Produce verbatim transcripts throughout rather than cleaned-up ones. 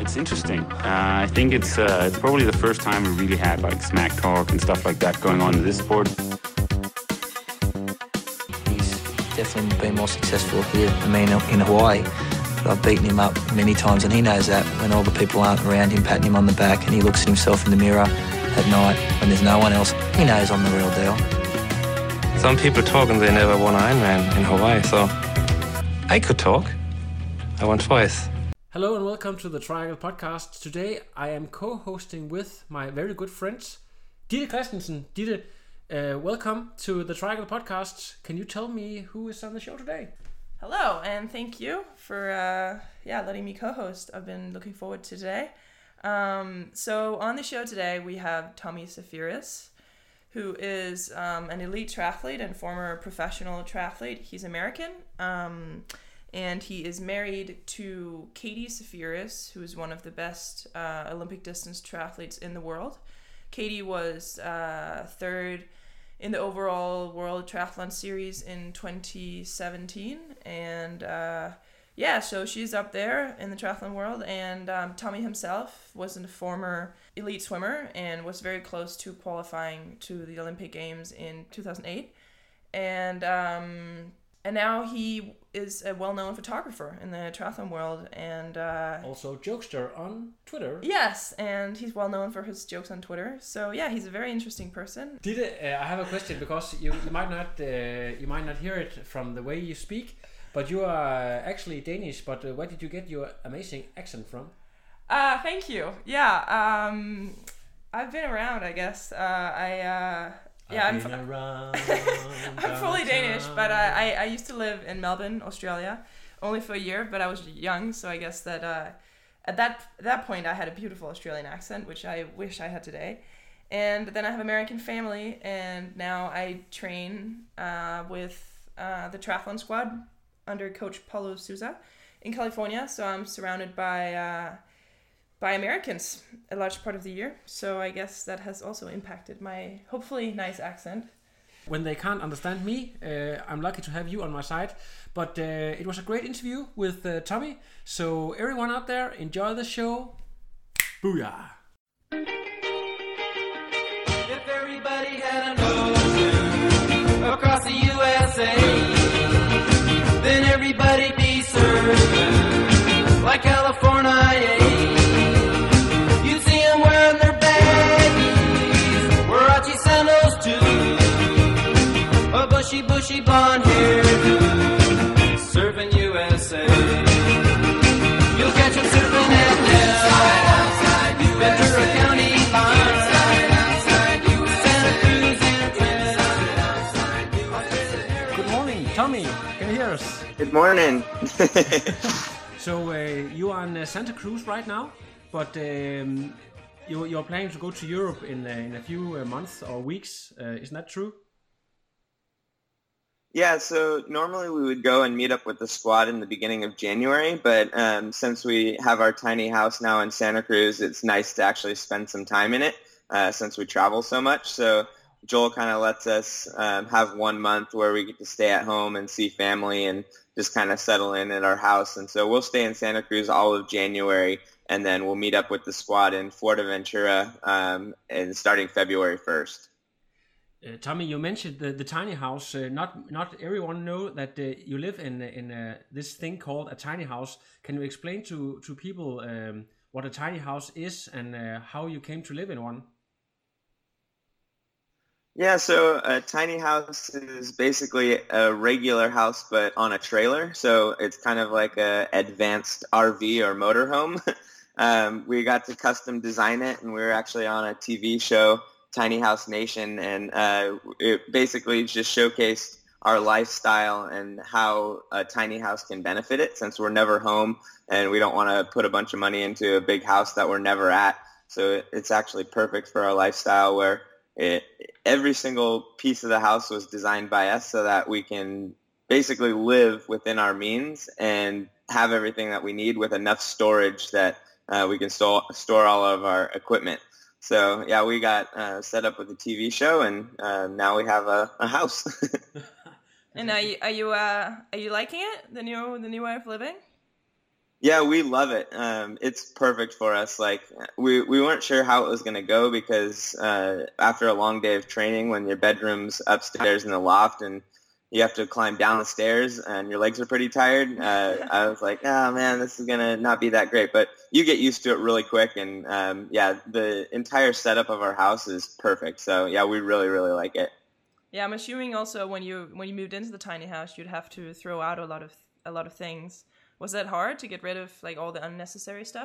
it's interesting. Uh, I think it's uh, it's probably the first time we really had like smack talk and stuff like that going on in this sport. He's definitely been more successful here than me in, in Hawaii. But I've beaten him up many times, and he knows that when all the people aren't around him patting him on the back and he looks at himself in the mirror at night when there's no one else, he knows I'm the real deal. Some people talk and they never won Ironman in Hawaii, so I could talk. I won twice. Hello and welcome to the Triangle Podcast. Today I am co-hosting with my very good friends, Ditte Christensen. Ditte, uh, welcome to the Triangle Podcast. Can you tell me who is on the show today? Hello, and thank you for uh, yeah letting me co-host. I've been looking forward to today. Um, so on the show today we have Tommy Zafiris, who is um, an elite triathlete and former professional triathlete. He's American. Um, And he is married to Katie Zafiris, who is one of the best uh, Olympic distance triathletes in the world. Katie was uh, third in the overall World Triathlon Series in twenty seventeen. And uh, yeah, so she's up there in the triathlon world. And um, Tommy himself was a former elite swimmer and was very close to qualifying to the Olympic Games in two thousand eight. And um, and now he is a well-known photographer in the triathlon world, and uh, also jokester on Twitter. Yes, and he's well-known for his jokes on Twitter. So yeah, he's a very interesting person. Ditte, uh, I have a question because you, you might not uh, you might not hear it from the way you speak, but you are actually Danish. But uh, where did you get your amazing accent from? Uh, thank you. Yeah, um, I've been around, I guess. Uh, I. Uh, Yeah, I'm, I'm fully Danish, but uh, I, I used to live in Melbourne, Australia, only for a year, but I was young, so I guess that uh, at that that point I had a beautiful Australian accent, which I wish I had today. And then I have American family, and now I train uh, with uh, the triathlon squad under Coach Paulo Souza in California, so I'm surrounded by... Uh, by Americans a large part of the year. So I guess that has also impacted my hopefully nice accent. When they can't understand me, uh, I'm lucky to have you on my side. But uh, it was a great interview with uh, Tommy. So everyone out there, enjoy the show. Booyah! If everybody had an ocean across the U S A, then everybody'd be served like California. Bushy, bushy blonde hair, surfing U S A. You'll catch him surfing at Nell, Ventura County line, Santa Cruz and Trinidad. Good morning, Tommy. Can you hear us? Good morning. So uh, you are in uh, Santa Cruz right now, but um, you, you're planning to go to Europe in uh, in a few uh, months or weeks. Uh, isn't that true? Yeah, so normally we would go and meet up with the squad in the beginning of January, but um, since we have our tiny house now in Santa Cruz, it's nice to actually spend some time in it uh, since we travel so much. So Joel kind of lets us um, have one month where we get to stay at home and see family and just kind of settle in at our house. And so we'll stay in Santa Cruz all of January, and then we'll meet up with the squad in Fuerteventura um, and starting February first. Uh, Tommy, you mentioned the, the tiny house. Uh, not not everyone know that uh, you live in in uh, this thing called a tiny house. Can you explain to to people um, what a tiny house is and uh, how you came to live in one? Yeah, so a tiny house is basically a regular house but on a trailer. So it's kind of like a advanced R V or motorhome. um, we got to custom design it, and we were actually on a T V show, Tiny House Nation, and uh, it basically just showcased our lifestyle and how a tiny house can benefit it, since we're never home and we don't want to put a bunch of money into a big house that we're never at. So it, it's actually perfect for our lifestyle, where it, every single piece of the house was designed by us so that we can basically live within our means and have everything that we need with enough storage that uh, we can store, store all of our equipment. So yeah, we got uh, set up with a T V show, and uh, now we have a, a house. And are you are you uh, are you liking it, the new the new way of living? Yeah, we love it. Um, it's perfect for us. Like we, we weren't sure how it was going to go because uh, after a long day of training, when your bedroom's upstairs in the loft and you have to climb down the stairs and your legs are pretty tired, uh, I was like, oh man, this is going to not be that great. But you get used to it really quick. And um, yeah, the entire setup of our house is perfect. So yeah, we really, really like it. Yeah, I'm assuming also when you when you moved into the tiny house, you'd have to throw out a lot of a lot of things. Was that hard to get rid of like all the unnecessary stuff?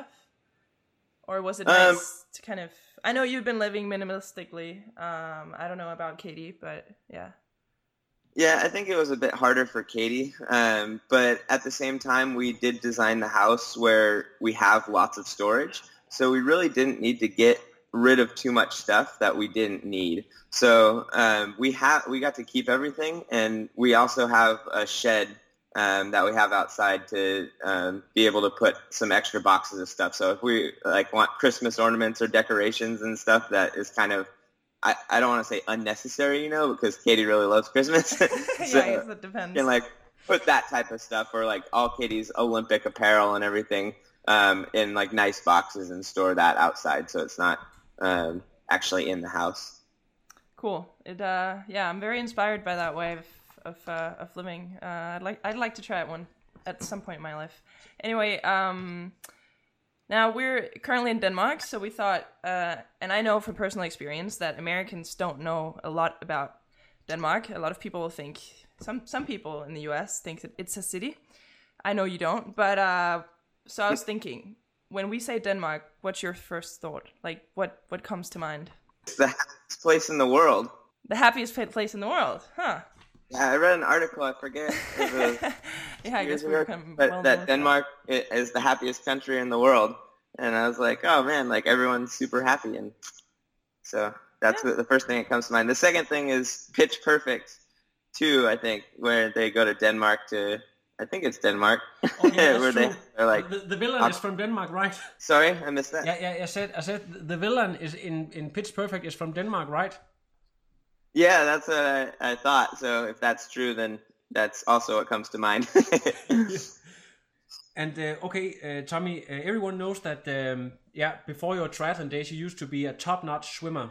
Or was it nice um, to kind of... I know you've been living minimalistically. Um, I don't know about Katie, but yeah. Yeah, I think it was a bit harder for Katie. Um, but at the same time, we did design the house where we have lots of storage. So we really didn't need to get rid of too much stuff that we didn't need. So um, we have we got to keep everything. And we also have a shed Um, that we have outside to um, be able to put some extra boxes of stuff. So if we like want Christmas ornaments or decorations and stuff, that is kind of, I, I don't want to say unnecessary, you know, because Katie really loves Christmas. So yeah, I guess it depends. You can like put that type of stuff or like all Katie's Olympic apparel and everything um, in like nice boxes and store that outside so it's not um, actually in the house. Cool. It uh, yeah, I'm very inspired by that way of Of, uh, of living. Uh, I'd like I'd like to try it one at some point in my life. Anyway, um, now we're currently in Denmark, so we thought, uh, and I know from personal experience that Americans don't know a lot about Denmark. A lot of people think some some people in the U S think that it's a city. I know you don't, but uh, so I was thinking, when we say Denmark, what's your first thought? Like, what what comes to mind? It's the happiest place in the world. The happiest place in the world, huh? Yeah, I read an article, I forget, it was yeah, I guess we're kind of but well that Denmark is the happiest country in the world. And I was like, oh man, like everyone's super happy. And so that's yeah. the first thing that comes to mind. The second thing is Pitch Perfect too, I think, where they go to Denmark to, I think it's Denmark. Oh, yeah, where they, they're like, the, the villain uh, is from Denmark, right? Sorry, I missed that. Yeah, yeah, I said, I said the villain is in, in Pitch Perfect is from Denmark, right? Yeah, that's what I, I thought. So if that's true, then that's also what comes to mind. And uh, okay, uh, Tommy, uh, everyone knows that, um, yeah, before your triathlon days, you used to be a top-notch swimmer.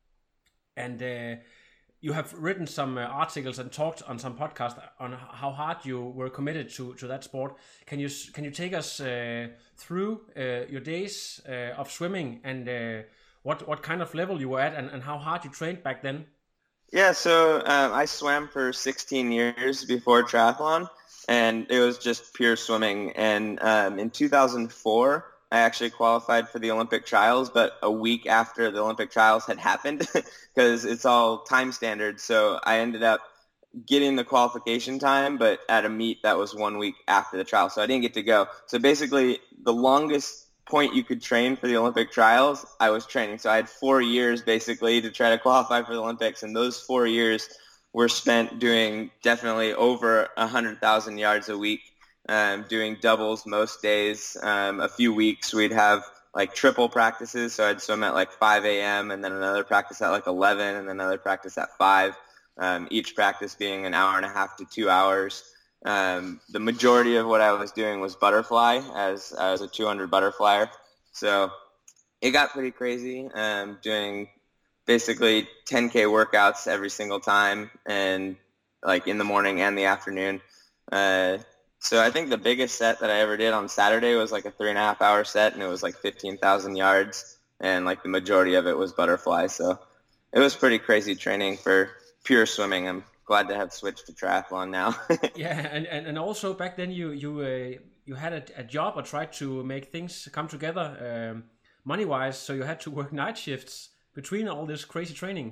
And uh, you have written some uh, articles and talked on some podcasts on how hard you were committed to, to that sport. Can you can you take us uh, through uh, your days uh, of swimming and uh, what, what kind of level you were at and, and how hard you trained back then? Yeah, so um, I swam for sixteen years before triathlon, and it was just pure swimming. And um, in two thousand four, I actually qualified for the Olympic trials, but a week after the Olympic trials had happened, because it's all time standard. So I ended up getting the qualification time, but at a meet that was one week after the trial. So I didn't get to go. So basically, the longest point you could train for the Olympic trials, I was training. So I had four years basically to try to qualify for the Olympics, and those four years were spent doing definitely over one hundred thousand yards a week, um, doing doubles most days. Um, a few weeks we'd have like triple practices, so I'd swim at like five a.m. and then another practice at like eleven and then another practice at five, um, each practice being an hour and a half to two hours. Um, the majority of what I was doing was butterfly as, as a two hundred butterflyer. So it got pretty crazy, um, doing basically ten K workouts every single time and like in the morning and the afternoon. Uh, so I think the biggest set that I ever did on Saturday was like a three and a half hour set, and it was like fifteen thousand yards, and like the majority of it was butterfly. So it was pretty crazy training for pure swimming. I'm glad to have switched to triathlon now. Yeah, and, and, and also back then you you uh, you had a, a job or tried to make things come together um, money-wise, so you had to work night shifts between all this crazy training.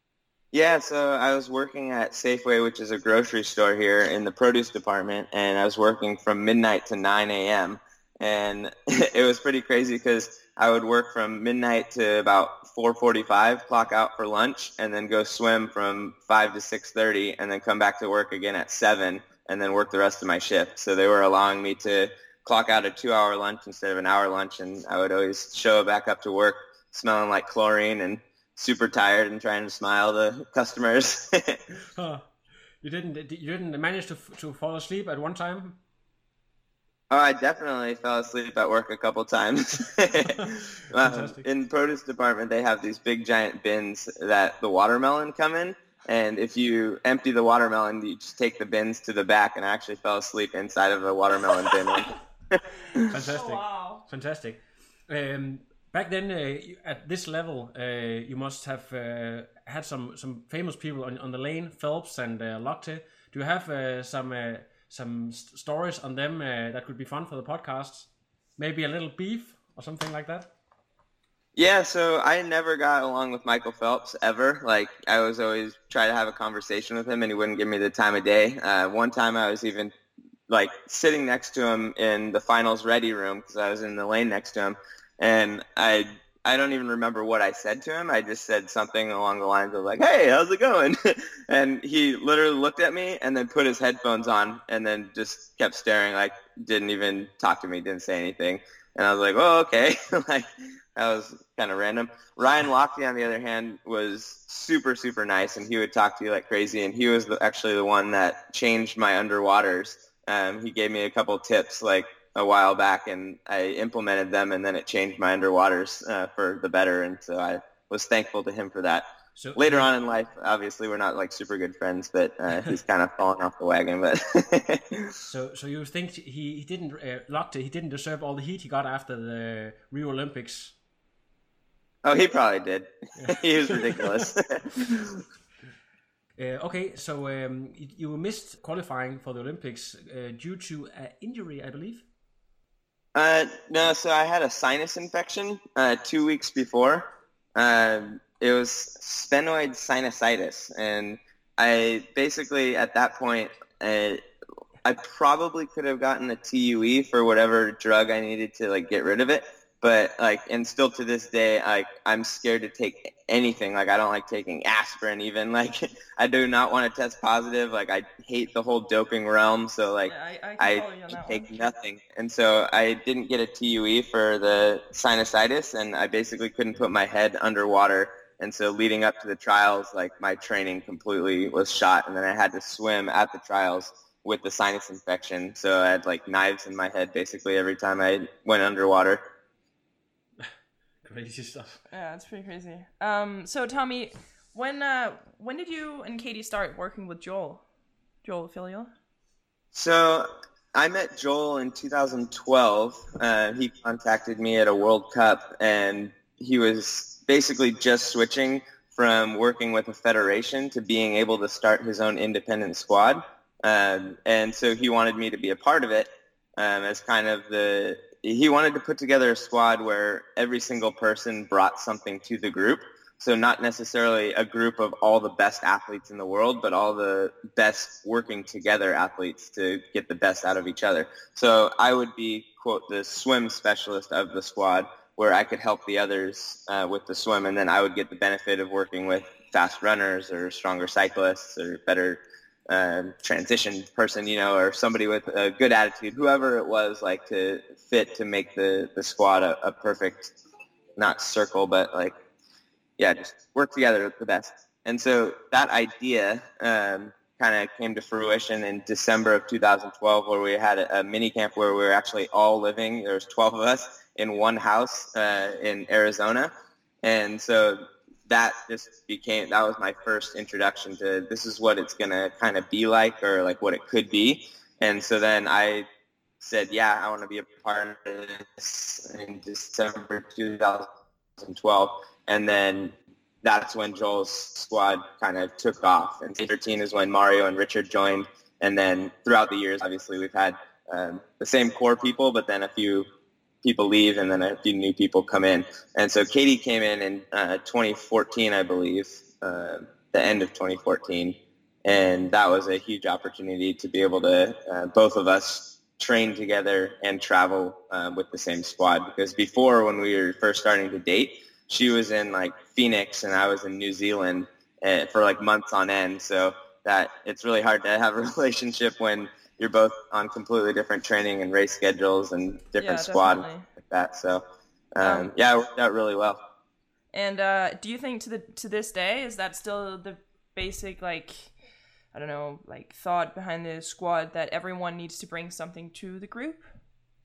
Yeah, so I was working at Safeway, which is a grocery store here in the produce department, and I was working from midnight to nine a.m. And it was pretty crazy because I would work from midnight to about four forty-five, clock out for lunch, and then go swim from five to six thirty, and then come back to work again at seven, and then work the rest of my shift. So they were allowing me to clock out a two-hour lunch instead of an hour lunch, and I would always show back up to work smelling like chlorine and super tired and trying to smile to customers. Huh. You didn't you didn't manage to to fall asleep at one time? Oh, I definitely fell asleep at work a couple times. um, in produce department, they have these big giant bins that the watermelon come in. And if you empty the watermelon, you just take the bins to the back, and I actually fell asleep inside of a watermelon bin. Fantastic. Oh, wow. Fantastic. Um, back then, uh, at this level, uh, you must have uh, had some, some famous people on, on the lane, Phelps and uh, Lochte. Do you have uh, some... Uh, some st- stories on them uh, that could be fun for the podcast? Maybe a little beef or something like that? Yeah, so I never got along with Michael Phelps ever. Like, I was always try to have a conversation with him, and he wouldn't give me the time of day. Uh, one time I was even, like, sitting next to him in the finals ready room because I was in the lane next to him, and I I don't even remember what I said to him. I just said something along the lines of like, "Hey, how's it going?" And he literally looked at me and then put his headphones on and then just kept staring, like didn't even talk to me, didn't say anything. And I was like, "Oh, okay." Like that was kind of random. Ryan Lochte, on the other hand, was super, super nice, and he would talk to you like crazy. And he was the, actually the one that changed my underwaters. Um, he gave me a couple tips, like a while back, and I implemented them, and then it changed my underwaters uh, for the better, and so I was thankful to him for that. So later on in life, obviously we're not like super good friends, but uh, he's kind of fallen off the wagon. But so, so you think he, he didn't uh, Lochte, he didn't deserve all the heat he got after the Rio Olympics? Oh, he probably did. He was ridiculous. Uh, okay, so um, you, you missed qualifying for the Olympics uh, due to an injury, I believe. Uh, no, so I had a sinus infection uh, two weeks before. Uh, it was sphenoid sinusitis, and I basically at that point uh, I probably could have gotten a T U E for whatever drug I needed to like get rid of it. But like, and still to this day, like I'm scared to take anything. Like I don't like taking aspirin even. Like I do not want to test positive. Like I hate the whole doping realm. So like yeah, I, I, I take nothing. And so I didn't get a T U E for the sinusitis, and I basically couldn't put my head underwater. And so leading up to the trials, like my training completely was shot, and then I had to swim at the trials with the sinus infection. So I had like knives in my head basically every time I went underwater. Crazy stuff. Yeah, it's pretty crazy. Um, so Tommy, when uh, when did you and Katie start working with Joel, Joel Filial? So I met Joel in two thousand twelve. Uh, he contacted me at a World Cup, and he was basically just switching from working with a federation to being able to start his own independent squad. Um, and so he wanted me to be a part of it um, as kind of the he wanted to put together a squad where every single person brought something to the group. So not necessarily a group of all the best athletes in the world, but all the best working together athletes to get the best out of each other. So I would be, quote, the swim specialist of the squad, where I could help the others uh, with the swim, and then I would get the benefit of working with fast runners or stronger cyclists or better Um, transition person, you know, or somebody with a good attitude, whoever it was, like to fit to make the, the squad a, a perfect, not circle, but like, yeah, just work together the best. And so that idea um, kind of came to fruition in December of two thousand twelve, where we had a, a mini camp where we were actually all living, there was twelve of us in one house uh, in Arizona. And so that just became, that was my first introduction to this is what it's going to kind of be like, or like what it could be. And so then I said, yeah, I want to be a part of this in December two thousand twelve. And then that's when Joel's squad kind of took off. And thirteen is when Mario and Richard joined. And then throughout the years, obviously, we've had um, the same core people, but then a few people leave and then a few new people come in. And so Katie came in in uh, twenty fourteen, I believe, uh, the end of twenty fourteen. And that was a huge opportunity to be able to, uh, both of us, train together and travel uh, with the same squad. Because before, when we were first starting to date, she was in like Phoenix and I was in New Zealand uh, for like months on end. So that it's really hard to have a relationship when you're both on completely different training and race schedules and different yeah, squad like that. So, um, um, yeah, it worked out really well. And uh, do you think to the to this day, is that still the basic, like, I don't know, like thought behind the squad that everyone needs to bring something to the group?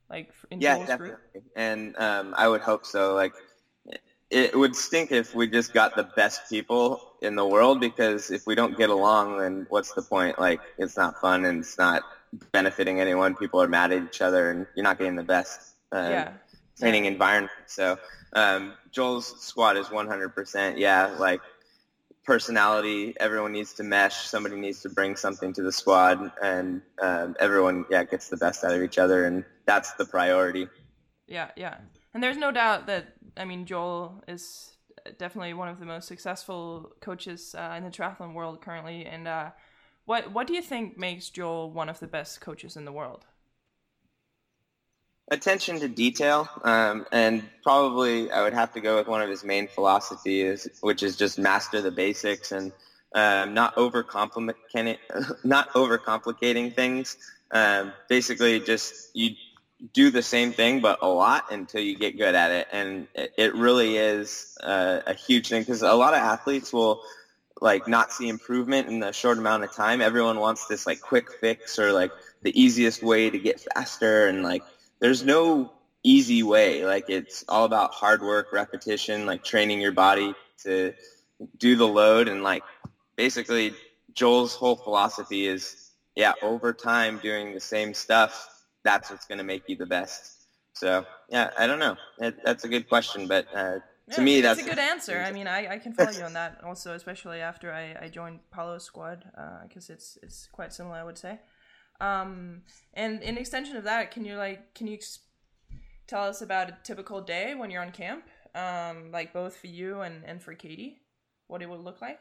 like in Yeah, Joel's definitely. group? And um, I would hope so. Like, it would stink if we just got the best people in the world, because if we don't get along, then what's the point? Like, it's not fun and it's not benefiting anyone. People are mad at each other and you're not getting the best uh, Yeah. training Yeah. environment. So um, Joel's squad is one hundred percent, yeah, like personality. Everyone needs to mesh. Somebody needs to bring something to the squad, and um, everyone, yeah, gets the best out of each other, and that's the priority. Yeah, yeah. And there's no doubt that, I mean, Joel is definitely one of the most successful coaches uh, in the triathlon world currently. And uh, what what do you think makes Joel one of the best coaches in the world? Attention to detail, um, and probably I would have to go with one of his main philosophies, which is just master the basics and um, not overcomplicating, not overcomplicating things. Um, basically, just you do the same thing but a lot until you get good at it, and it, it really is uh, a huge thing, because a lot of athletes will like not see improvement in a short amount of time. Everyone wants this like quick fix or like the easiest way to get faster, and like there's no easy way. Like, it's all about hard work, repetition, like training your body to do the load. And like basically Joel's whole philosophy is, yeah, over time doing the same stuff, that's what's going to make you the best. So yeah, I don't know. It, that's a good question, but uh, to Yeah, me, it's that's a good answer. I mean, I, I can follow you on that also, especially after I, I joined Paulo's squad, because uh, it's it's quite similar, I would say. Um, and in extension of that, can you like can you ex- tell us about a typical day when you're on camp, um, like both for you and, and for Katie, what it would look like?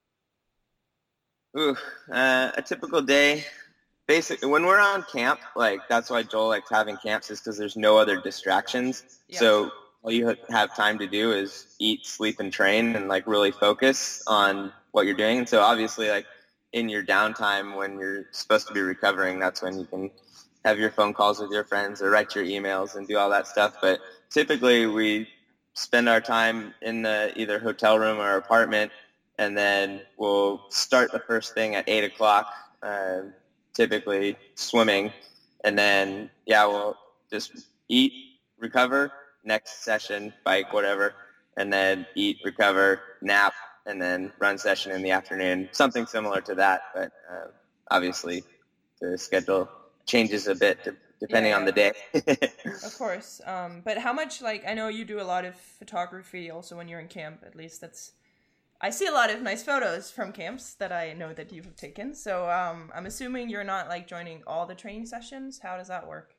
Ooh, uh, a typical day. Basically, when we're on camp, like that's why Joel likes having camps, is because there's no other distractions. Yeah. So all you have time to do is eat, sleep, and train, and like really focus on what you're doing. And so obviously, like in your downtime when you're supposed to be recovering, that's when you can have your phone calls with your friends or write your emails and do all that stuff. But typically, we spend our time in the either hotel room or apartment, and then we'll start the first thing at eight o'clock. Uh, typically swimming, and then yeah we'll just eat, recover, next session, bike, whatever, and then eat, recover, nap, and then run session in the afternoon, something similar to that. But uh, obviously the schedule changes a bit to, depending Yeah, on the day. Of course. Um, but how much, like, I know you do a lot of photography also when you're in camp, at least that's I see a lot of nice photos from camps that I know that you've taken. So um, I'm assuming you're not like joining all the training sessions. How does that work?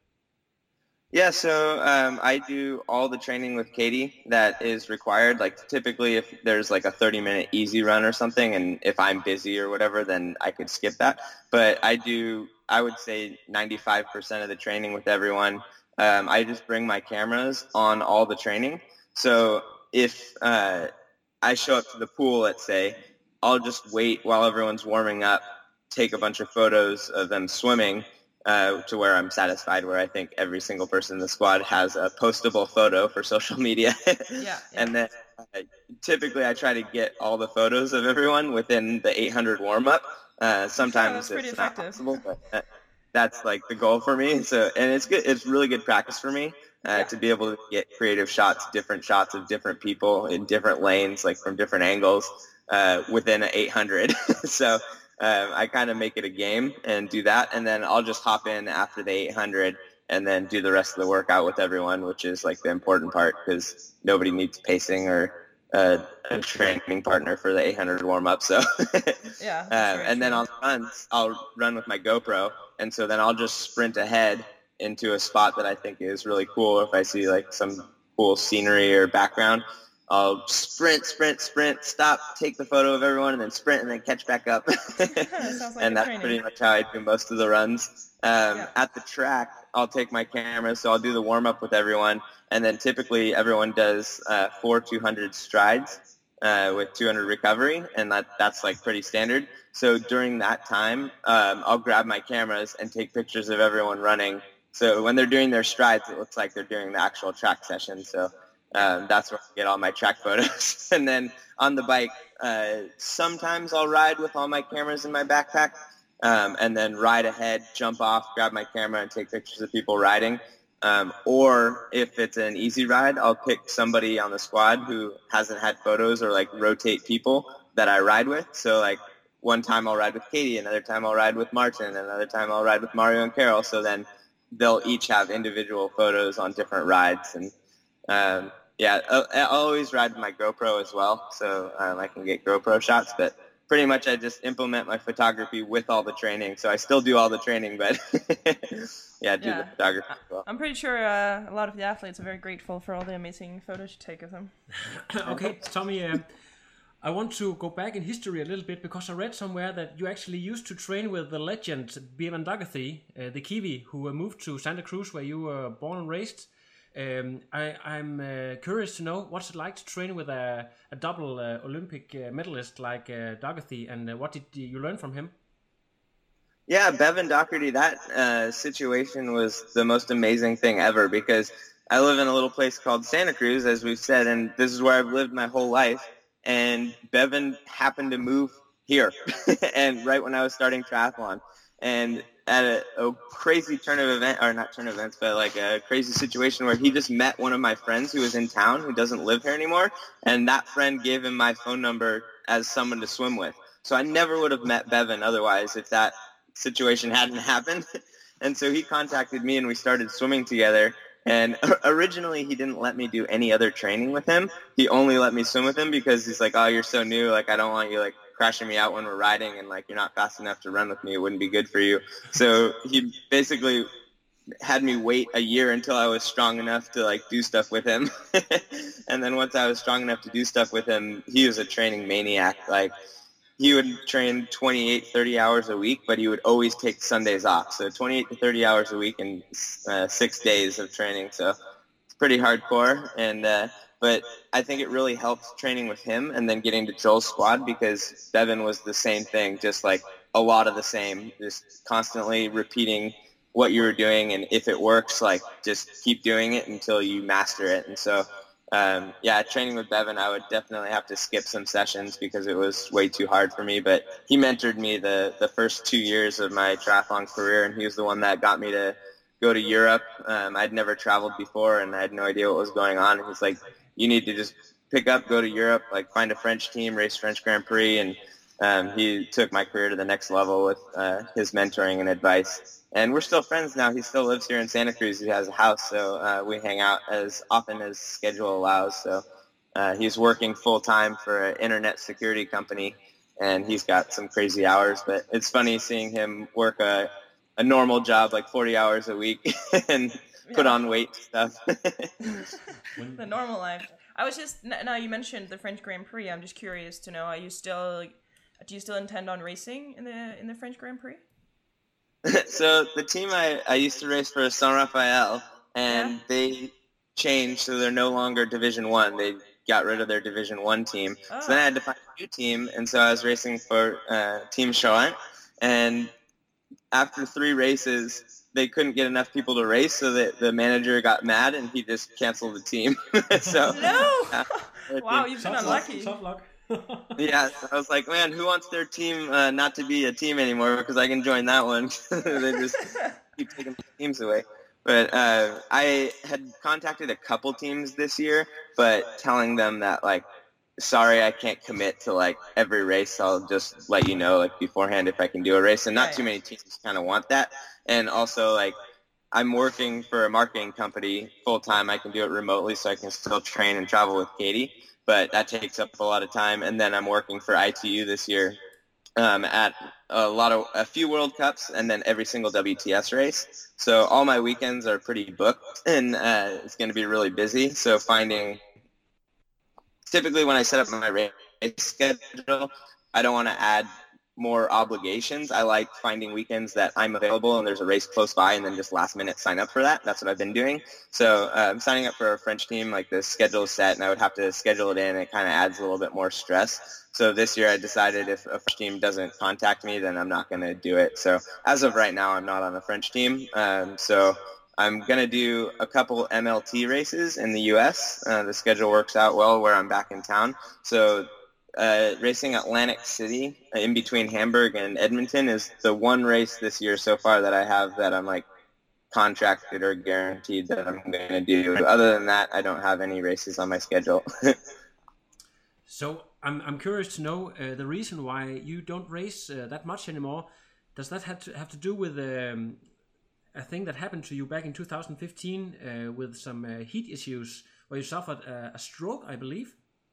Yeah, so um, I do all the training with Katie that is required. Like typically if there's like a thirty minute easy run or something, and if I'm busy or whatever, then I could skip that. But I do, I would say ninety-five percent of the training with everyone. Um, I just bring my cameras on all the training. So if uh, I show up to the pool, let's say, I'll just wait while everyone's warming up, take a bunch of photos of them swimming, Uh, to where I'm satisfied, where I think every single person in the squad has a postable photo for social media. Yeah, yeah. And then uh, typically I try to get all the photos of everyone within the eight hundred warm-up. Uh, sometimes pretty it's not effective. possible, but uh, that's like the goal for me. So, and it's good. It's really good practice for me uh, Yeah. to be able to get creative shots, different shots of different people in different lanes, like from different angles uh, within an eight hundred. So Um, I kind of make it a game and do that, and then I'll just hop in after the eight hundred and then do the rest of the workout with everyone, which is like the important part because nobody needs pacing or uh, a training partner for the eight hundred warm-up. So, Yeah, that's um, very and then true. on runs, I'll run with my GoPro, and so then I'll just sprint ahead into a spot that I think is really cool. If I see like some cool scenery or background, I'll sprint, sprint, sprint, stop, take the photo of everyone, and then sprint, and then catch back up. Sounds like And a that's training. pretty much how I do most of the runs. Um, Yeah. At the track, I'll take my camera, so I'll do the warm-up with everyone, and then typically everyone does uh, four two hundred strides uh, with two hundred recovery, and that, that's like pretty standard. So during that time, um, I'll grab my cameras and take pictures of everyone running. So when they're doing their strides, it looks like they're doing the actual track session. So Um, that's where I get all my track photos. And then on the bike, uh, sometimes I'll ride with all my cameras in my backpack, um, and then ride ahead, jump off, grab my camera, and take pictures of people riding. Um, or if it's an easy ride, I'll pick somebody on the squad who hasn't had photos or like rotate people that I ride with. So like one time I'll ride with Katie, another time I'll ride with Martin, another time I'll ride with Mario and Carol. So then they'll each have individual photos on different rides. And um, yeah, I'll, I'll always ride with my GoPro as well, so um, I can get GoPro shots. But pretty much I just implement my photography with all the training. So I still do all the training, but yeah, do yeah. the photography as well. I'm pretty sure uh, a lot of the athletes are very grateful for all the amazing photos you take of them. Okay, Tommy, uh, I want to go back in history a little bit, because I read somewhere that you actually used to train with the legend Bevan Dougherty, uh, the Kiwi, who uh, moved to Santa Cruz, where you were born and raised. Um, I, I'm uh, curious to know what's it like to train with a, a double uh, Olympic uh, medalist like uh, Dougherty, and uh, what did you learn from him? Yeah, Bevan Dougherty, that uh, situation was the most amazing thing ever, because I live in a little place called Santa Cruz, as we've said, and this is where I've lived my whole life. And Bevan happened to move here, and right when I was starting triathlon, and at a, a crazy turn of event, or not turn of events, but like a crazy situation where he just met one of my friends who was in town who doesn't live here anymore, and that friend gave him my phone number as someone to swim with. So I never would have met Bevan otherwise if that situation hadn't happened. And so he contacted me, and we started swimming together. And originally, he didn't let me do any other training with him. He only let me swim with him because he's like, oh, you're so new. Like, I don't want you, like, crashing me out when we're riding, and, like, you're not fast enough to run with me. It wouldn't be good for you. So he basically had me wait a year until I was strong enough to, like, do stuff with him. And then once I was strong enough to do stuff with him, he was a training maniac. Like, he would train twenty-eight, thirty hours a week, but he would always take Sundays off. So twenty-eight to thirty hours a week and uh, six days of training. So it's pretty hardcore. And uh, but I think it really helped training with him and then getting to Joel's squad, because Bevan was the same thing, just like a lot of the same, just constantly repeating what you were doing. And if it works, like just keep doing it until you master it. And so Um, yeah, training with Bevan, I would definitely have to skip some sessions because it was way too hard for me. But he mentored me the, the first two years of my triathlon career, and he was the one that got me to go to Europe. Um, I'd never traveled before, and I had no idea what was going on. And he's like, you need to just pick up, go to Europe, like find a French team, race French Grand Prix. And um, he took my career to the next level with uh, his mentoring and advice. And we're still friends now. He still lives here in Santa Cruz. He has a house, so uh, we hang out as often as schedule allows. So uh, he's working full-time for an internet security company, and he's got some crazy hours. But it's funny seeing him work a, a normal job, like forty hours a week, and yeah. put on weight stuff. The normal life. I was just, now you mentioned the French Grand Prix. I'm just curious to know, are you still, do you still intend on racing in the in the French Grand Prix? So the team I, I used to race for is San Rafael, and yeah. they changed, so they're no longer Division One. They got rid of their Division One team. Oh. So then I had to find a new team, and so I was racing for uh, Team Charent. And after three races, they couldn't get enough people to race, so that the manager got mad, and he just canceled the team. so no! Uh, wow, you've been unlucky. Tough luck. Yeah, so I was like, man, who wants their team uh, not to be a team anymore? Because I can join that one. They just keep taking teams away. But uh, I had contacted a couple teams this year, but telling them that, like, sorry, I can't commit to, like, every race. I'll just let you know, like, beforehand if I can do a race. And not too many teams kind of want that. And also, like, I'm working for a marketing company full-time. I can do it remotely, so I can still train and travel with Katie. But that takes up a lot of time. And then I'm working for I T U this year um, at a lot of a few World Cups and then every single W T S race. So all my weekends are pretty booked, and uh, it's going to be really busy. So finding typically when I set up my race schedule, I don't want to add more obligations. I like finding weekends that I'm available and there's a race close by, and then just last minute sign up for that. That's what I've been doing. So uh, I'm signing up for a French team, like the schedule is set, and I would have to schedule it in. It kind of adds a little bit more stress. So this year I decided if a French team doesn't contact me, then I'm not going to do it. So as of right now, I'm not on a French team. Um, so I'm going to do a couple M L T races in the U S. Uh, the schedule works out well where I'm back in town. So Uh, racing Atlantic City uh, in between Hamburg and Edmonton is the one race this year so far that I have that I'm like contracted or guaranteed that I'm going to do. Other than that, I don't have any races on my schedule. So I'm I'm curious to know uh, the reason why you don't race uh, that much anymore. Does that have to have to do with um, a thing that happened to you back in two thousand fifteen uh, with some uh, heat issues where you suffered a, a stroke, I believe?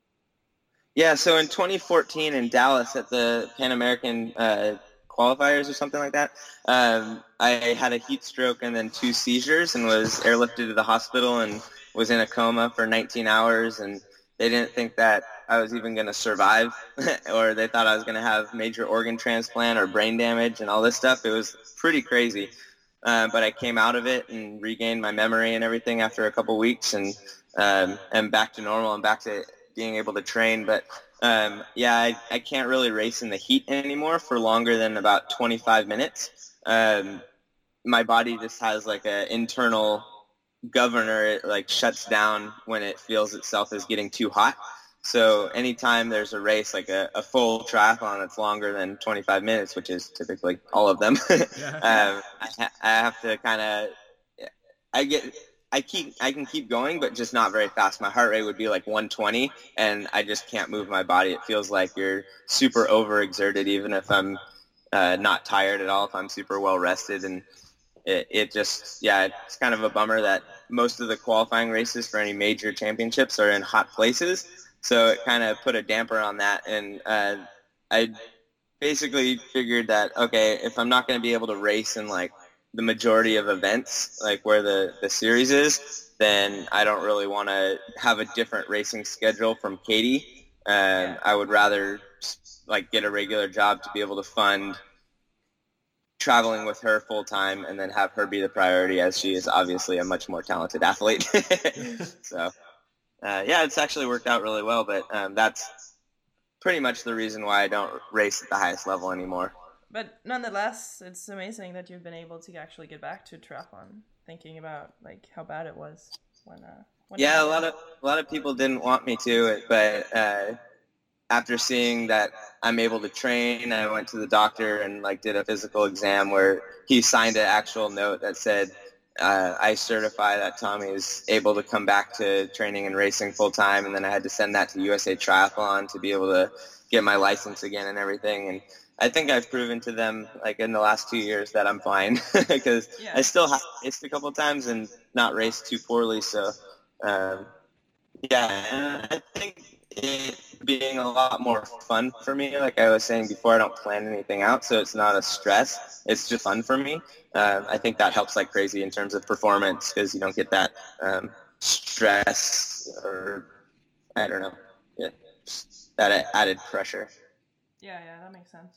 Yeah, so in twenty fourteen in Dallas at the Pan American uh, qualifiers or something like that, um, I had a heat stroke and then two seizures and was airlifted to the hospital and was in a coma for nineteen hours, and they didn't think that I was even going to survive or they thought I was going to have major organ transplant or brain damage and all this stuff. It was pretty crazy. Uh, but I came out of it and regained my memory and everything after a couple weeks, and um, am back to normal and back to being able to train. But um, yeah, I, I can't really race in the heat anymore for longer than about twenty-five minutes. Um, my body just has like an internal governor. It like shuts down when it feels itself as getting too hot. So anytime there's a race, like a, a full triathlon that's longer than twenty-five minutes, which is typically all of them, um, I, ha- I have to kind of, I get, I keep, I can keep going, but just not very fast. My heart rate would be like one twenty, and I just can't move my body. It feels like you're super overexerted, even if I'm uh, not tired at all, if I'm super well rested. And it, it just, yeah, it's kind of a bummer that most of the qualifying races for any major championships are in hot places. So it kind of put a damper on that, and uh, I basically figured that, okay, if I'm not going to be able to race in like the majority of events, like where the, the series is, then I don't really want to have a different racing schedule from Katie. Um, I would rather like get a regular job to be able to fund traveling with her full time, and then have her be the priority, as she is obviously a much more talented athlete. So. Uh, yeah, it's actually worked out really well, but um, that's pretty much the reason why I don't race at the highest level anymore. But nonetheless, it's amazing that you've been able to actually get back to triathlon, thinking about like how bad it was when. Uh, when yeah, a lot of a lot of people didn't want me to, but uh, after seeing that I'm able to train, I went to the doctor and like did a physical exam where he signed an actual note that said, Uh, I certify that Tommy is able to come back to training and racing full time, and then I had to send that to U S A Triathlon to be able to get my license again and everything. And I think I've proven to them, like in the last two years, that I'm fine because yeah. I still have raced a couple of times and not raced too poorly. So um, yeah, I think it being a lot more fun for me. Like I was saying before, I don't plan anything out, so it's not a stress. It's just fun for me. Uh, I think that helps like crazy in terms of performance because you don't get that um, stress or, I don't know, yeah, that added pressure. Yeah, yeah, that makes sense.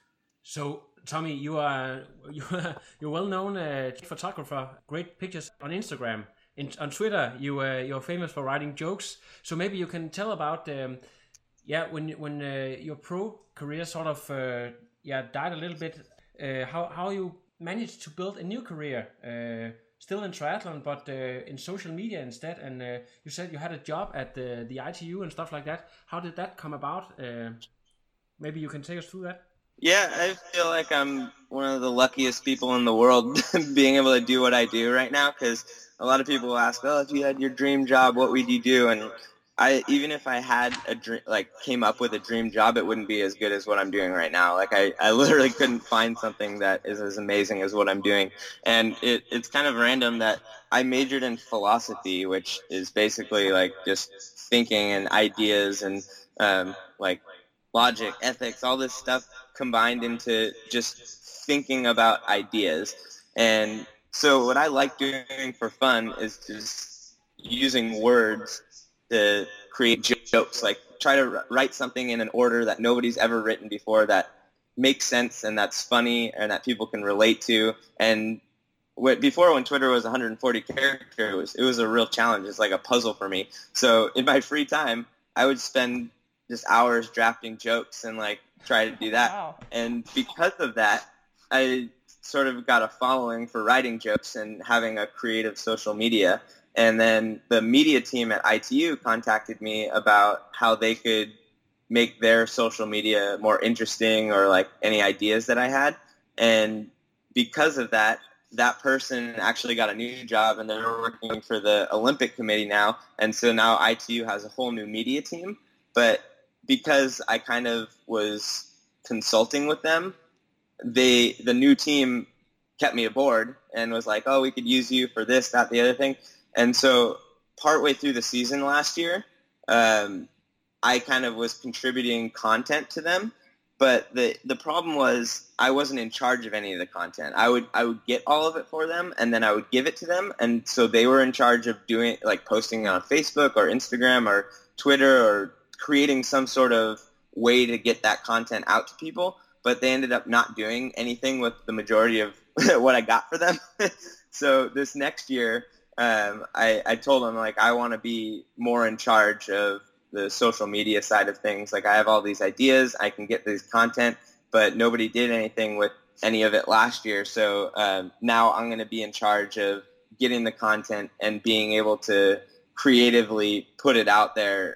So, Tommy, you are you are, you're well-known uh, photographer, great pictures on Instagram. In, on Twitter, you uh, you're famous for writing jokes. So maybe you can tell about um, yeah when when uh, your pro career sort of uh, yeah died a little bit. Uh, how how you managed to build a new career, uh, still in triathlon, but uh, in social media instead. And uh, you said you had a job at the the I T U and stuff like that. How did that come about? Uh, maybe you can take us through that. Yeah, I feel like I'm one of the luckiest people in the world being able to do what I do right now, because a lot of people ask, oh, if you had your dream job, what would you do? And I, even if I had a dream, like came up with a dream job, it wouldn't be as good as what I'm doing right now. Like I, I literally couldn't find something that is as amazing as what I'm doing. And it, it's kind of random that I majored in philosophy, which is basically like just thinking and ideas and um, like logic, ethics, all this stuff combined into just thinking about ideas. And so what I like doing for fun is just using words to create jokes, like try to write something in an order that nobody's ever written before that makes sense and that's funny and that people can relate to. And what, before when Twitter was one hundred forty characters, it was, it was a real challenge. It's like a puzzle for me. So in my free time, I would spend just hours drafting jokes and like try to do that. Wow. And because of that, I sort of got a following for writing jokes and having a creative social media. And then the media team at I T U contacted me about how they could make their social media more interesting or like any ideas that I had. And because of that, that person actually got a new job and they're working for the Olympic Committee now. And so now I T U has a whole new media team. But because I kind of was consulting with them, they the new team kept me aboard and was like, oh, we could use you for this, that, the other thing. And so partway through the season last year, um, I kind of was contributing content to them. But the the problem was I wasn't in charge of any of the content. I would I would get all of it for them, and then I would give it to them. And so they were in charge of doing, like, posting on Facebook or Instagram or Twitter or creating some sort of way to get that content out to people. But they ended up not doing anything with the majority of what I got for them. So this next year, um, I, I told them, like, I want to be more in charge of the social media side of things. Like, I have all these ideas, I can get this content, but nobody did anything with any of it last year. So um, now I'm going to be in charge of getting the content and being able to creatively put it out there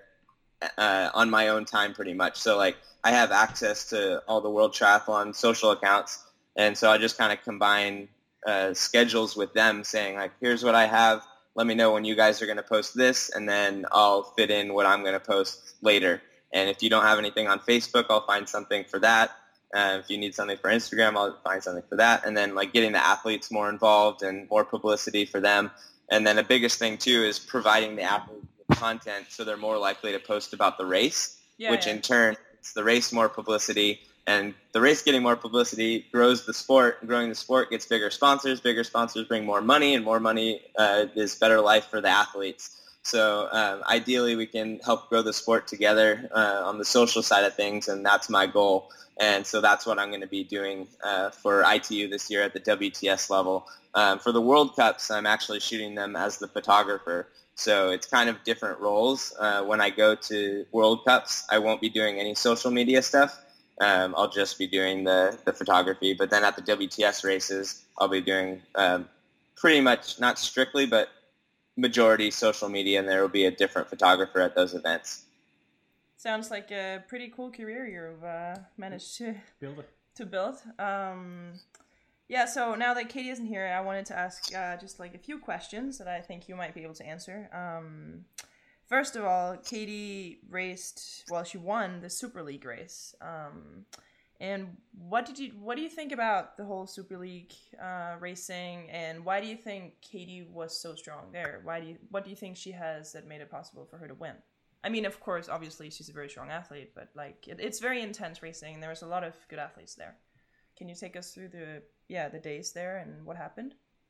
uh, on my own time pretty much. So, like, I have access to all the World Triathlon social accounts, and so I just kind of combine uh, schedules with them, saying, like, here's what I have, let me know when you guys are going to post this, and then I'll fit in what I'm going to post later. And if you don't have anything on Facebook, I'll find something for that. Uh, if you need something for Instagram, I'll find something for that. And then, like, getting the athletes more involved and more publicity for them. And then the biggest thing, too, is providing the athletes with content so they're more likely to post about the race, yeah, which yeah. in turn gets the race more publicity. And the race getting more publicity grows the sport, and growing the sport gets bigger sponsors. Bigger sponsors bring more money, and more money uh, is better life for the athletes. So um, ideally, we can help grow the sport together uh, on the social side of things, and that's my goal. And so that's what I'm going to be doing uh, for I T U this year at the W T S level. Um, for the World Cups, I'm actually shooting them as the photographer. So it's kind of different roles. Uh, when I go to World Cups, I won't be doing any social media stuff. Um, I'll just be doing the, the photography. But then at the W T S races, I'll be doing um, pretty much, not strictly, but majority social media, and there will be a different photographer at those events. Sounds like a pretty cool career you've uh, managed to build. It. To build. Um, yeah, so now that Katie isn't here, I wanted to ask uh, just like a few questions that I think you might be able to answer. Um, First of all, Katie raced, well, she won the Super League race. Um, and what did you, what do you think about the whole Super League uh, racing, and why do you think Katie was so strong there? Why do you, what do you think she has that made it possible for her to win? I mean, of course, obviously she's a very strong athlete, but like it, it's very intense racing. There was a lot of good athletes there. Can you take us through the, yeah, the days there and what happened?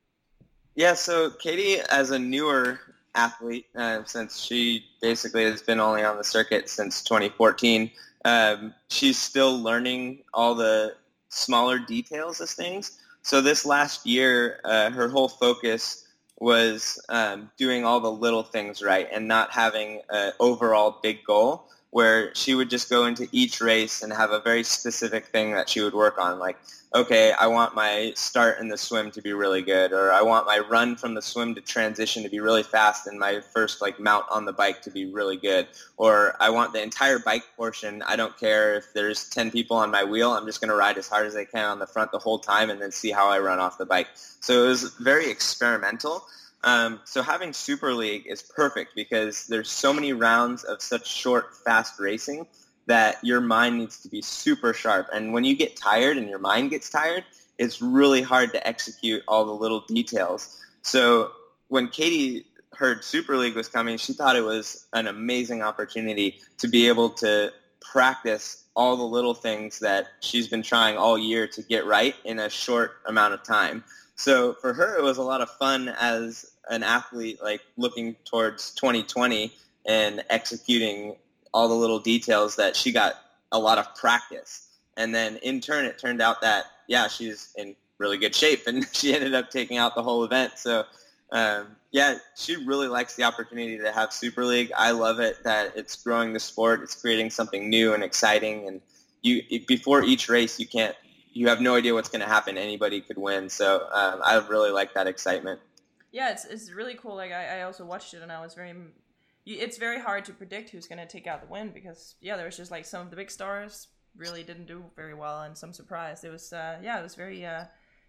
Yeah, so Katie, as a newer athlete, uh, since she basically has been only on the circuit since twenty fourteen, um, she's still learning all the smaller details of things. So this last year, uh, her whole focus was um, doing all the little things right and not having an overall big goal, where she would just go into each race and have a very specific thing that she would work on. Like, okay, I want my start in the swim to be really good, or I want my run from the swim to transition to be really fast and my first like mount on the bike to be really good, or I want the entire bike portion. I don't care if there's ten people on my wheel. I'm just going to ride as hard as I can on the front the whole time and then see how I run off the bike. So it was very experimental. Um, so having Super League is perfect because there's so many rounds of such short, fast racing that your mind needs to be super sharp. And when you get tired and your mind gets tired, it's really hard to execute all the little details. So when Katie heard Super League was coming, she thought it was an amazing opportunity to be able to practice all the little things that she's been trying all year to get right in a short amount of time. So for her, it was a lot of fun as an athlete, like looking towards twenty twenty and executing all the little details that she got a lot of practice. And then in turn, it turned out that, yeah, she's in really good shape, and she ended up taking out the whole event. So, um, yeah, she really likes the opportunity to have Super League. I love it that it's growing the sport. It's creating something new and exciting. And you before each race, you can't, you have no idea what's going to happen. Anybody could win. So um, I really like that excitement. Yeah, it's it's really cool. Like I, I also watched it, and I was very, it's very hard to predict who's going to take out the win because, yeah, there was just like some of the big stars really didn't do very well and some surprised. It was, uh, yeah, it was very, uh,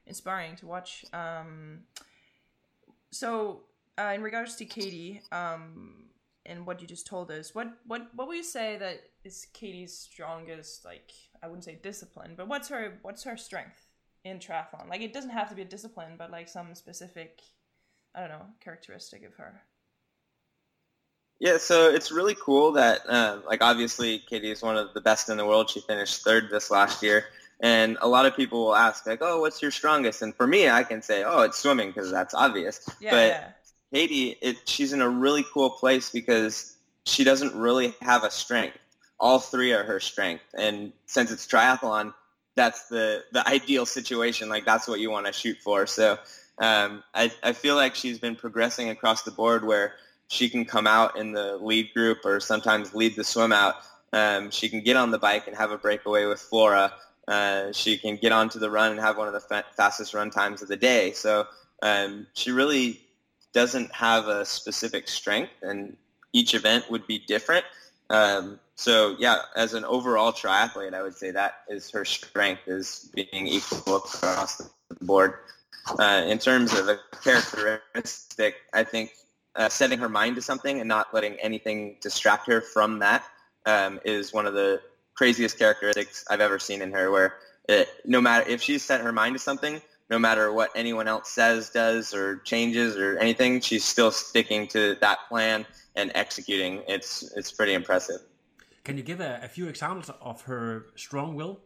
inspiring to watch. Um, so uh, in regards to Katie, um, and what you just told us, what what what would you say that is Katie's strongest, like, I wouldn't say discipline, but what's her what's her strength in triathlon? Like, it doesn't have to be a discipline, but like some specific, I don't know, characteristic of her. Yeah, so it's really cool that, um, like, obviously Katie is one of the best in the world. She finished third this last year. And a lot of people will ask, like, oh, what's your strongest? And for me, I can say, oh, it's swimming, because that's obvious. Yeah, but yeah. Katie, it, she's in a really cool place because she doesn't really have a strength. All three are her strength. And since it's triathlon, that's the, the ideal situation. Like, that's what you want to shoot for. So um, I, I feel like she's been progressing across the board where she can come out in the lead group or sometimes lead the swim out. Um, she can get on the bike and have a breakaway with Flora. Uh, she can get onto the run and have one of the fa- fastest run times of the day. So um, she really doesn't have a specific strength, and each event would be different. Um, so, yeah, as an overall triathlete, I would say that is her strength, is being equal across the board. Uh, in terms of a characteristic, I think Uh, setting her mind to something and not letting anything distract her from that um, is one of the craziest characteristics I've ever seen in her, where it, no matter if she's set her mind to something, no matter what anyone else says, does, or changes or anything, she's still sticking to that plan and executing. It's it's pretty impressive. Can you give a, a few examples of her strong will?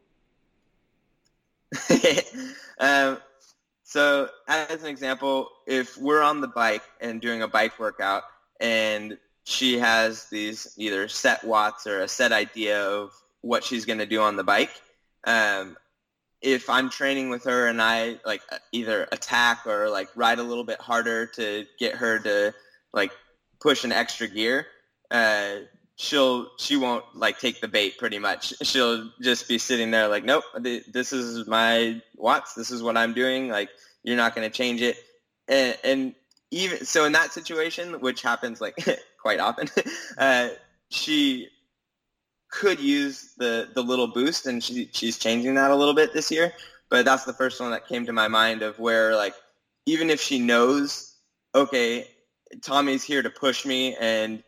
um, So as an example, if we're on the bike and doing a bike workout and she has these either set watts or a set idea of what she's going to do on the bike, um, if I'm training with her and I like either attack or like ride a little bit harder to get her to like push an extra gear, uh, she'll she won't like take the bait pretty much. She'll just be sitting there like, nope, this is my watts. This is what I'm doing. Like, you're not going to change it. And, and even so in that situation, which happens like quite often, uh, she could use the, the little boost, and she, she's changing that a little bit this year. But that's the first one that came to my mind, of where like, even if she knows, okay, Tommy's here to push me, and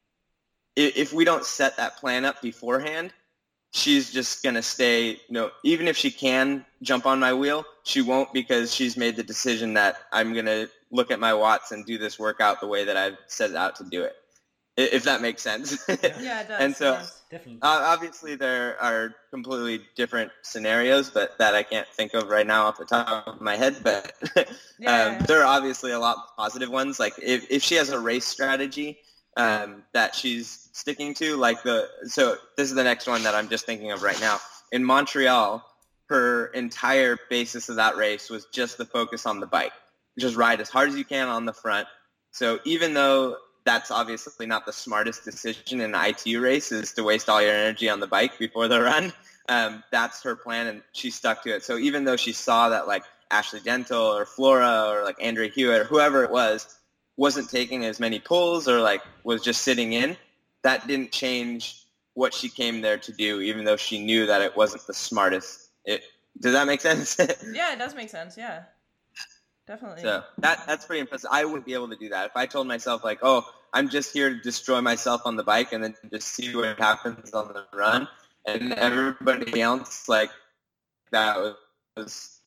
if we don't set that plan up beforehand, she's just going to stay, you know, even if she can jump on my wheel, she won't, because she's made the decision that I'm going to look at my watts and do this workout the way that I've set it out to do it, if that makes sense. Yeah, it does. And so does. Definitely. Uh, obviously there are completely different scenarios, but that I can't think of right now off the top of my head. But Yeah, um, yeah. there are obviously a lot of positive ones. Like if, if she has a race strategy um, that she's sticking to, like the, so this is the next one that I'm just thinking of right now. In Montreal, her entire basis of that race was just the focus on the bike. Just ride as hard as you can on the front. So even though that's obviously not the smartest decision in an I T U race, is to waste all your energy on the bike before the run, um, that's her plan, and she stuck to it. So even though she saw that like Ashley Dental or Flora or like Andrea Hewitt or whoever it was wasn't taking as many pulls or like was just sitting in, that didn't change what she came there to do, even though she knew that it wasn't the smartest. It, does that make sense? Yeah, it does make sense. Yeah, definitely. So that that's pretty impressive. I wouldn't be able to do that. If I told myself like, oh, I'm just here to destroy myself on the bike and then just see what happens on the run, and everybody else like that was, was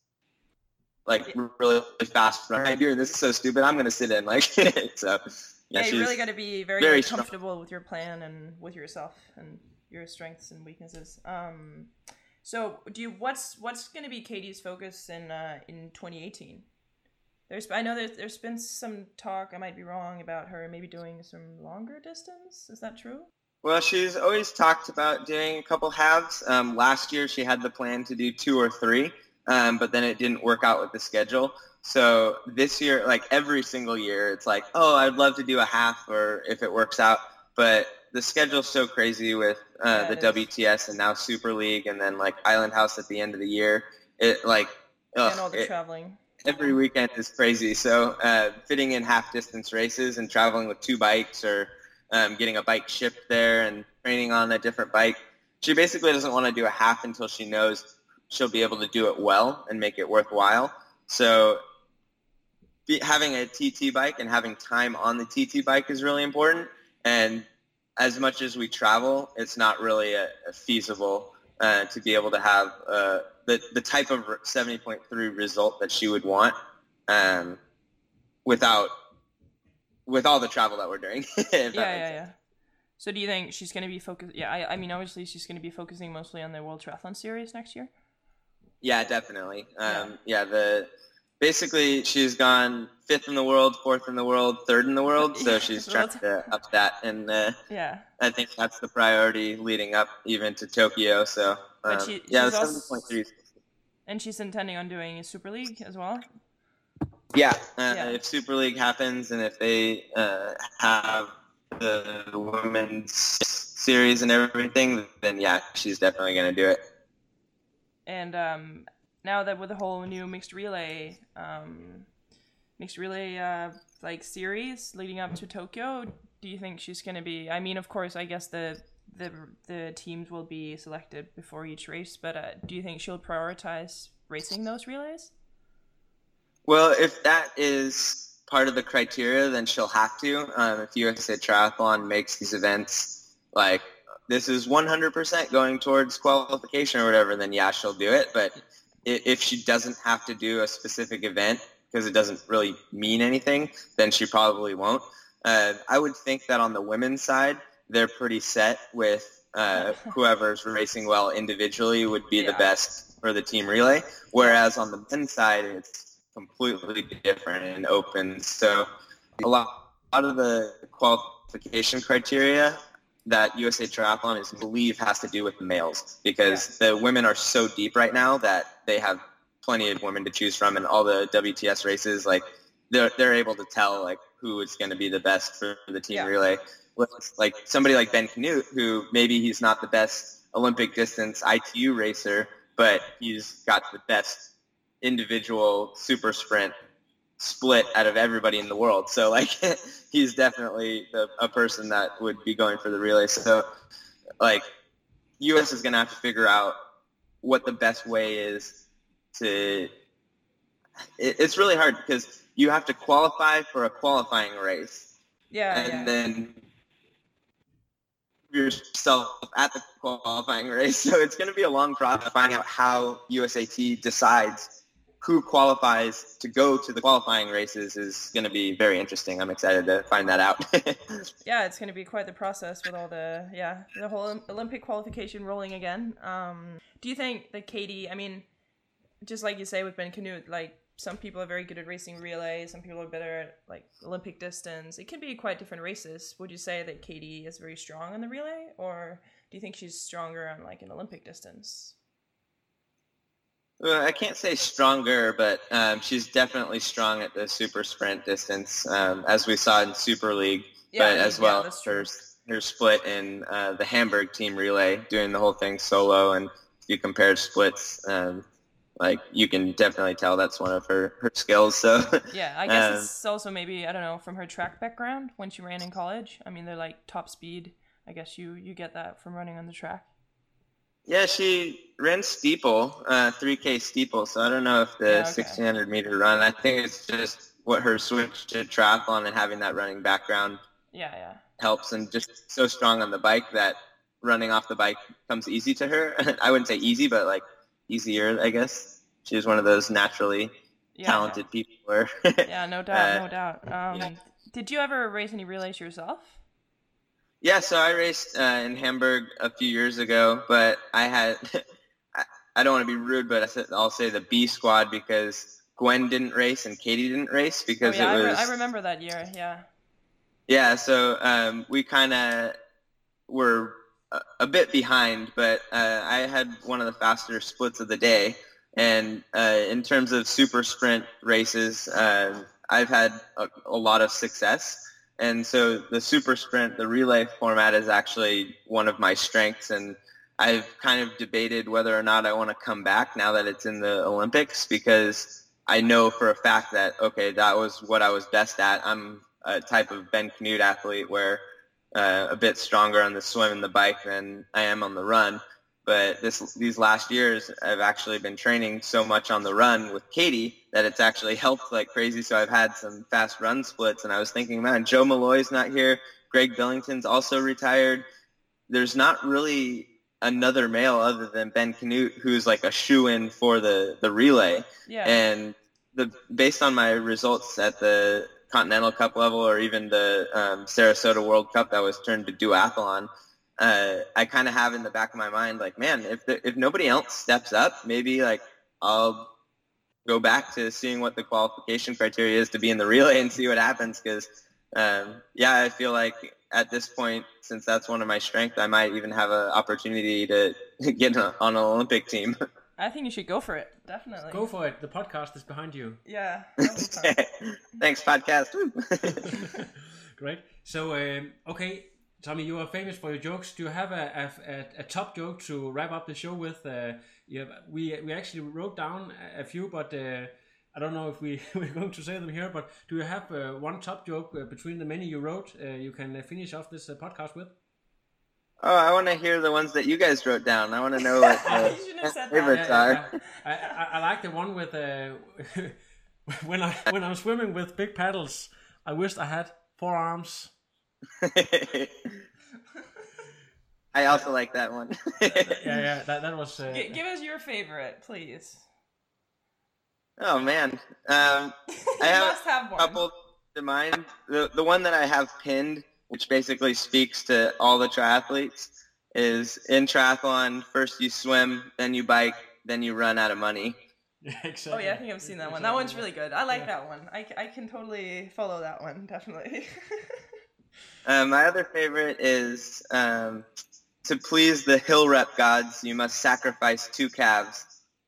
like really fast run. I'm doing this is so stupid. I'm gonna sit in like so. Yeah, Yeah, you she's really got to be very, very very strong. comfortable with your plan and with yourself and your strengths and weaknesses. Um, so do you what's what's going to be Katie's focus in uh, in twenty eighteen? There's I know there's there's been some talk, I might be wrong, about her maybe doing some longer distance. Is that true? Well, she's always talked about doing a couple halves. Um, last year she had the plan to do two or three, um, but then it didn't work out with the schedule. So this year, like every single year, it's like, oh, I'd love to do a half, or if it works out. But the schedule's so crazy with uh, Yeah, the it is. W T S and now Super League, and then like Island House at the end of the year. It like ugh, and all the it- traveling. every weekend is crazy. So uh, fitting in half distance races and traveling with two bikes, or um, getting a bike shipped there and training on a different bike. She basically doesn't want to do a half until she knows she'll be able to do it well and make it worthwhile. So be, having a T T bike and having time on the T T bike is really important. And as much as we travel, it's not really a, a feasible uh, to be able to have uh, the, the type of seventy point three result that she would want um, without with all the travel that we're doing. If Yeah, that makes yeah, sense. yeah. So do you think she's going to be focused? Yeah, I, I mean, obviously she's going to be focusing mostly on the World Triathlon Series next year. Yeah, definitely. Um, yeah, the basically she's gone fifth in the world, fourth in the world, third in the world. So Yeah, she's so trying that's- to up that, and uh, Yeah. I think that's the priority leading up even to Tokyo. So But um, she- yeah, she's seven also- point three. And she's intending on doing a Super League as well. Yeah, uh, Yeah. if Super League happens and if they uh, have the women's series and everything, then yeah, she's definitely going to do it. And um, now that with the whole new mixed relay, um, mixed relay uh, like series leading up to Tokyo, do you think she's going to be? I mean, of course, I guess the the the teams will be selected before each race, but uh, do you think she'll prioritize racing those relays? Well, if that is part of the criteria, then she'll have to. Um, if U S A Triathlon makes these events like this is one hundred percent going towards qualification or whatever, then yeah, she'll do it. But i- if she doesn't have to do a specific event because it doesn't really mean anything, then she probably won't. Uh, I would think that on the women's side, they're pretty set with uh, whoever's racing well individually would be Yeah. the best for the team relay. Whereas on the men's side, it's completely different and open. So a lot, a lot of the qualification criteria that U S A Triathlon is believe has to do with the males because the women are so deep right now that they have plenty of women to choose from, and all the W T S races, like they're they're able to tell like who is going to be the best for the team Yeah. relay. With, like somebody like Ben Canute, who maybe he's not the best Olympic distance I T U racer, but he's got the best individual super sprint split out of everybody in the world. So like he's definitely the, a person that would be going for the relay. So like U S is going to have to figure out what the best way is to it, it's really hard because you have to qualify for a qualifying race Yeah, and yeah. then yourself at the qualifying race. So it's going to be a long process finding out how U S A T decides who qualifies to go to the qualifying races is going to be very interesting. I'm excited to find that out. Yeah, it's going to be quite the process with all the, yeah, the whole Olympic qualification rolling again. Um, do you think that Katie, I mean, just like you say with Ben Canute, like some people are very good at racing relay, some people are better at like Olympic distance. It can be quite different races. Would you say that Katie is very strong on the relay, or do you think she's stronger on like an Olympic distance? Well, I can't say stronger, but um, she's definitely strong at the super sprint distance, um, as we saw in Super League, Yeah, but I mean, as yeah, well that's her, true. her split in uh, the Hamburg team relay, doing the whole thing solo, and if you compare splits, um, like you can definitely tell that's one of her, her skills. So Yeah, I guess um, it's also maybe, I don't know, from her track background when she ran in college. I mean, they're like top speed. I guess you, you get that from running on the track. yeah, she ran steeple, uh, three K steeple, so I don't know if the Yeah, okay. sixteen hundred meter run, I think it's just what her switch to triathlon and having that running background Yeah, yeah. helps, and just so strong on the bike that running off the bike comes easy to her. I wouldn't say easy, but like easier, I guess. She's one of those naturally Yeah, talented people. Where Yeah, no doubt, Uh, no doubt. Um, yeah. Did you ever race any relays yourself? Yeah, so I raced uh, in Hamburg a few years ago, but I had, I, I don't want to be rude, but I said, I'll say the B squad because Gwen didn't race and Katie didn't race because oh, yeah, it I, was, re- I remember that year, yeah. yeah, so um, we kind of were a, a bit behind, but uh, I had one of the faster splits of the day. And uh, in terms of super sprint races, uh, I've had a, a lot of success. And so the super sprint, the relay format is actually one of my strengths. And I've kind of debated whether or not I want to come back now that it's in the Olympics, because I know for a fact that, okay, that was what I was best at. I'm a type of Ben Canute athlete where uh, a bit stronger on the swim and the bike than I am on the run. But this these last years, I've actually been training so much on the run with Katie that it's actually helped like crazy. So I've had some fast run splits, and I was thinking, man, Joe Malloy's not here. Greg Billington's also retired. There's not really another male other than Ben Canute who's like a shoe-in for the, the relay. Yeah. And the based on my results at the Continental Cup level or even the um, Sarasota World Cup that was turned to duathlon, uh, I kind of have in the back of my mind, like, man, if the, if nobody else steps up, maybe like I'll go back to seeing what the qualification criteria is to be in the relay and see what happens. Because, um, yeah, I feel like at this point, since that's one of my strengths, I might even have an opportunity to get on an Olympic team. I think you should go for it. Definitely. Go for it. The podcast is behind you. Yeah. Thanks, podcast. Great. So, um, okay, Tommy, you are famous for your jokes. Do you have a, a, a top joke to wrap up the show with? Uh, you have, we we actually wrote down a few, but uh, I don't know if we, we're going to say them here. But do you have uh, one top joke uh, between the many you wrote uh, you can uh, finish off this uh, podcast with? Oh, I want to hear the ones that you guys wrote down. I want to know what the favorites yeah, are. Yeah, yeah. I, I, I like the one with uh, when I when I'm swimming with big paddles. I wished I had four arms. I also like that one. yeah, yeah, that that was. Uh, G- give us your favorite, please. Oh man, um, I have, must have a one. couple to mind. The the one that I have pinned, which basically speaks to all the triathletes, is in triathlon, first you swim, then you bike, then you run out of money. Yeah, exactly. Oh yeah, I think I've seen that one. That one's really good. I like yeah. that one. I, I can totally follow that one, definitely. um, my other favorite is um, to please the hill rep gods, you must sacrifice two calves.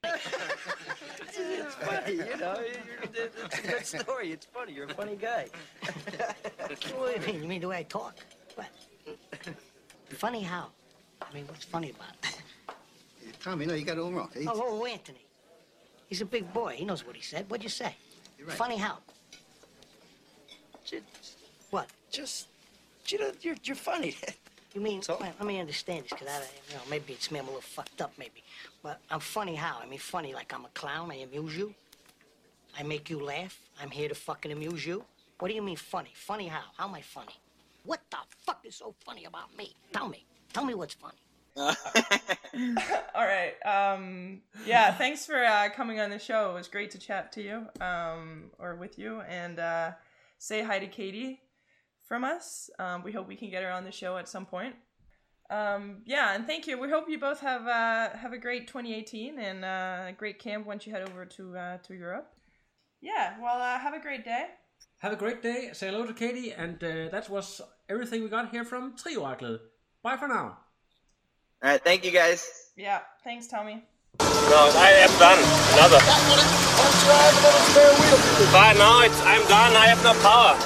It's funny, you know. It's a good story. It's funny. You're a funny guy. What do you mean? You mean the way I talk? What? Funny how? I mean, what's funny about it? Yeah, Tommy, no, you got it all wrong. He's... Oh, oh, Anthony. He's a big boy. He knows what he said. What'd you say? You're right. Funny how? Just, what? Just, you know, you're, you're funny. You mean, so? Well, let me understand this, because I, you know, maybe it's me, I'm a little fucked up, maybe. But I'm funny how? I mean, funny like I'm a clown, I amuse you. I make you laugh. I'm here to fucking amuse you. What do you mean funny? Funny how? How am I funny? What the fuck is so funny about me? Tell me. Tell me what's funny. All right. Um, yeah, thanks for uh, coming on the show. It was great to chat to you, um, or with you, and uh, say hi to Katie from us. Um, we hope we can get her on the show at some point. Um, yeah, and thank you. We hope you both have uh, have a great twenty eighteen and uh, a great camp once you head over to uh, to Europe. Yeah, well, uh, have a great day. Have a great day. Say hello to Katie, and uh, that was everything we got here from Trioraklet. Bye for now. All right, thank you guys. Yeah, thanks, Tommy. No, I am done. Another. But now it's, I'm done. I have no power.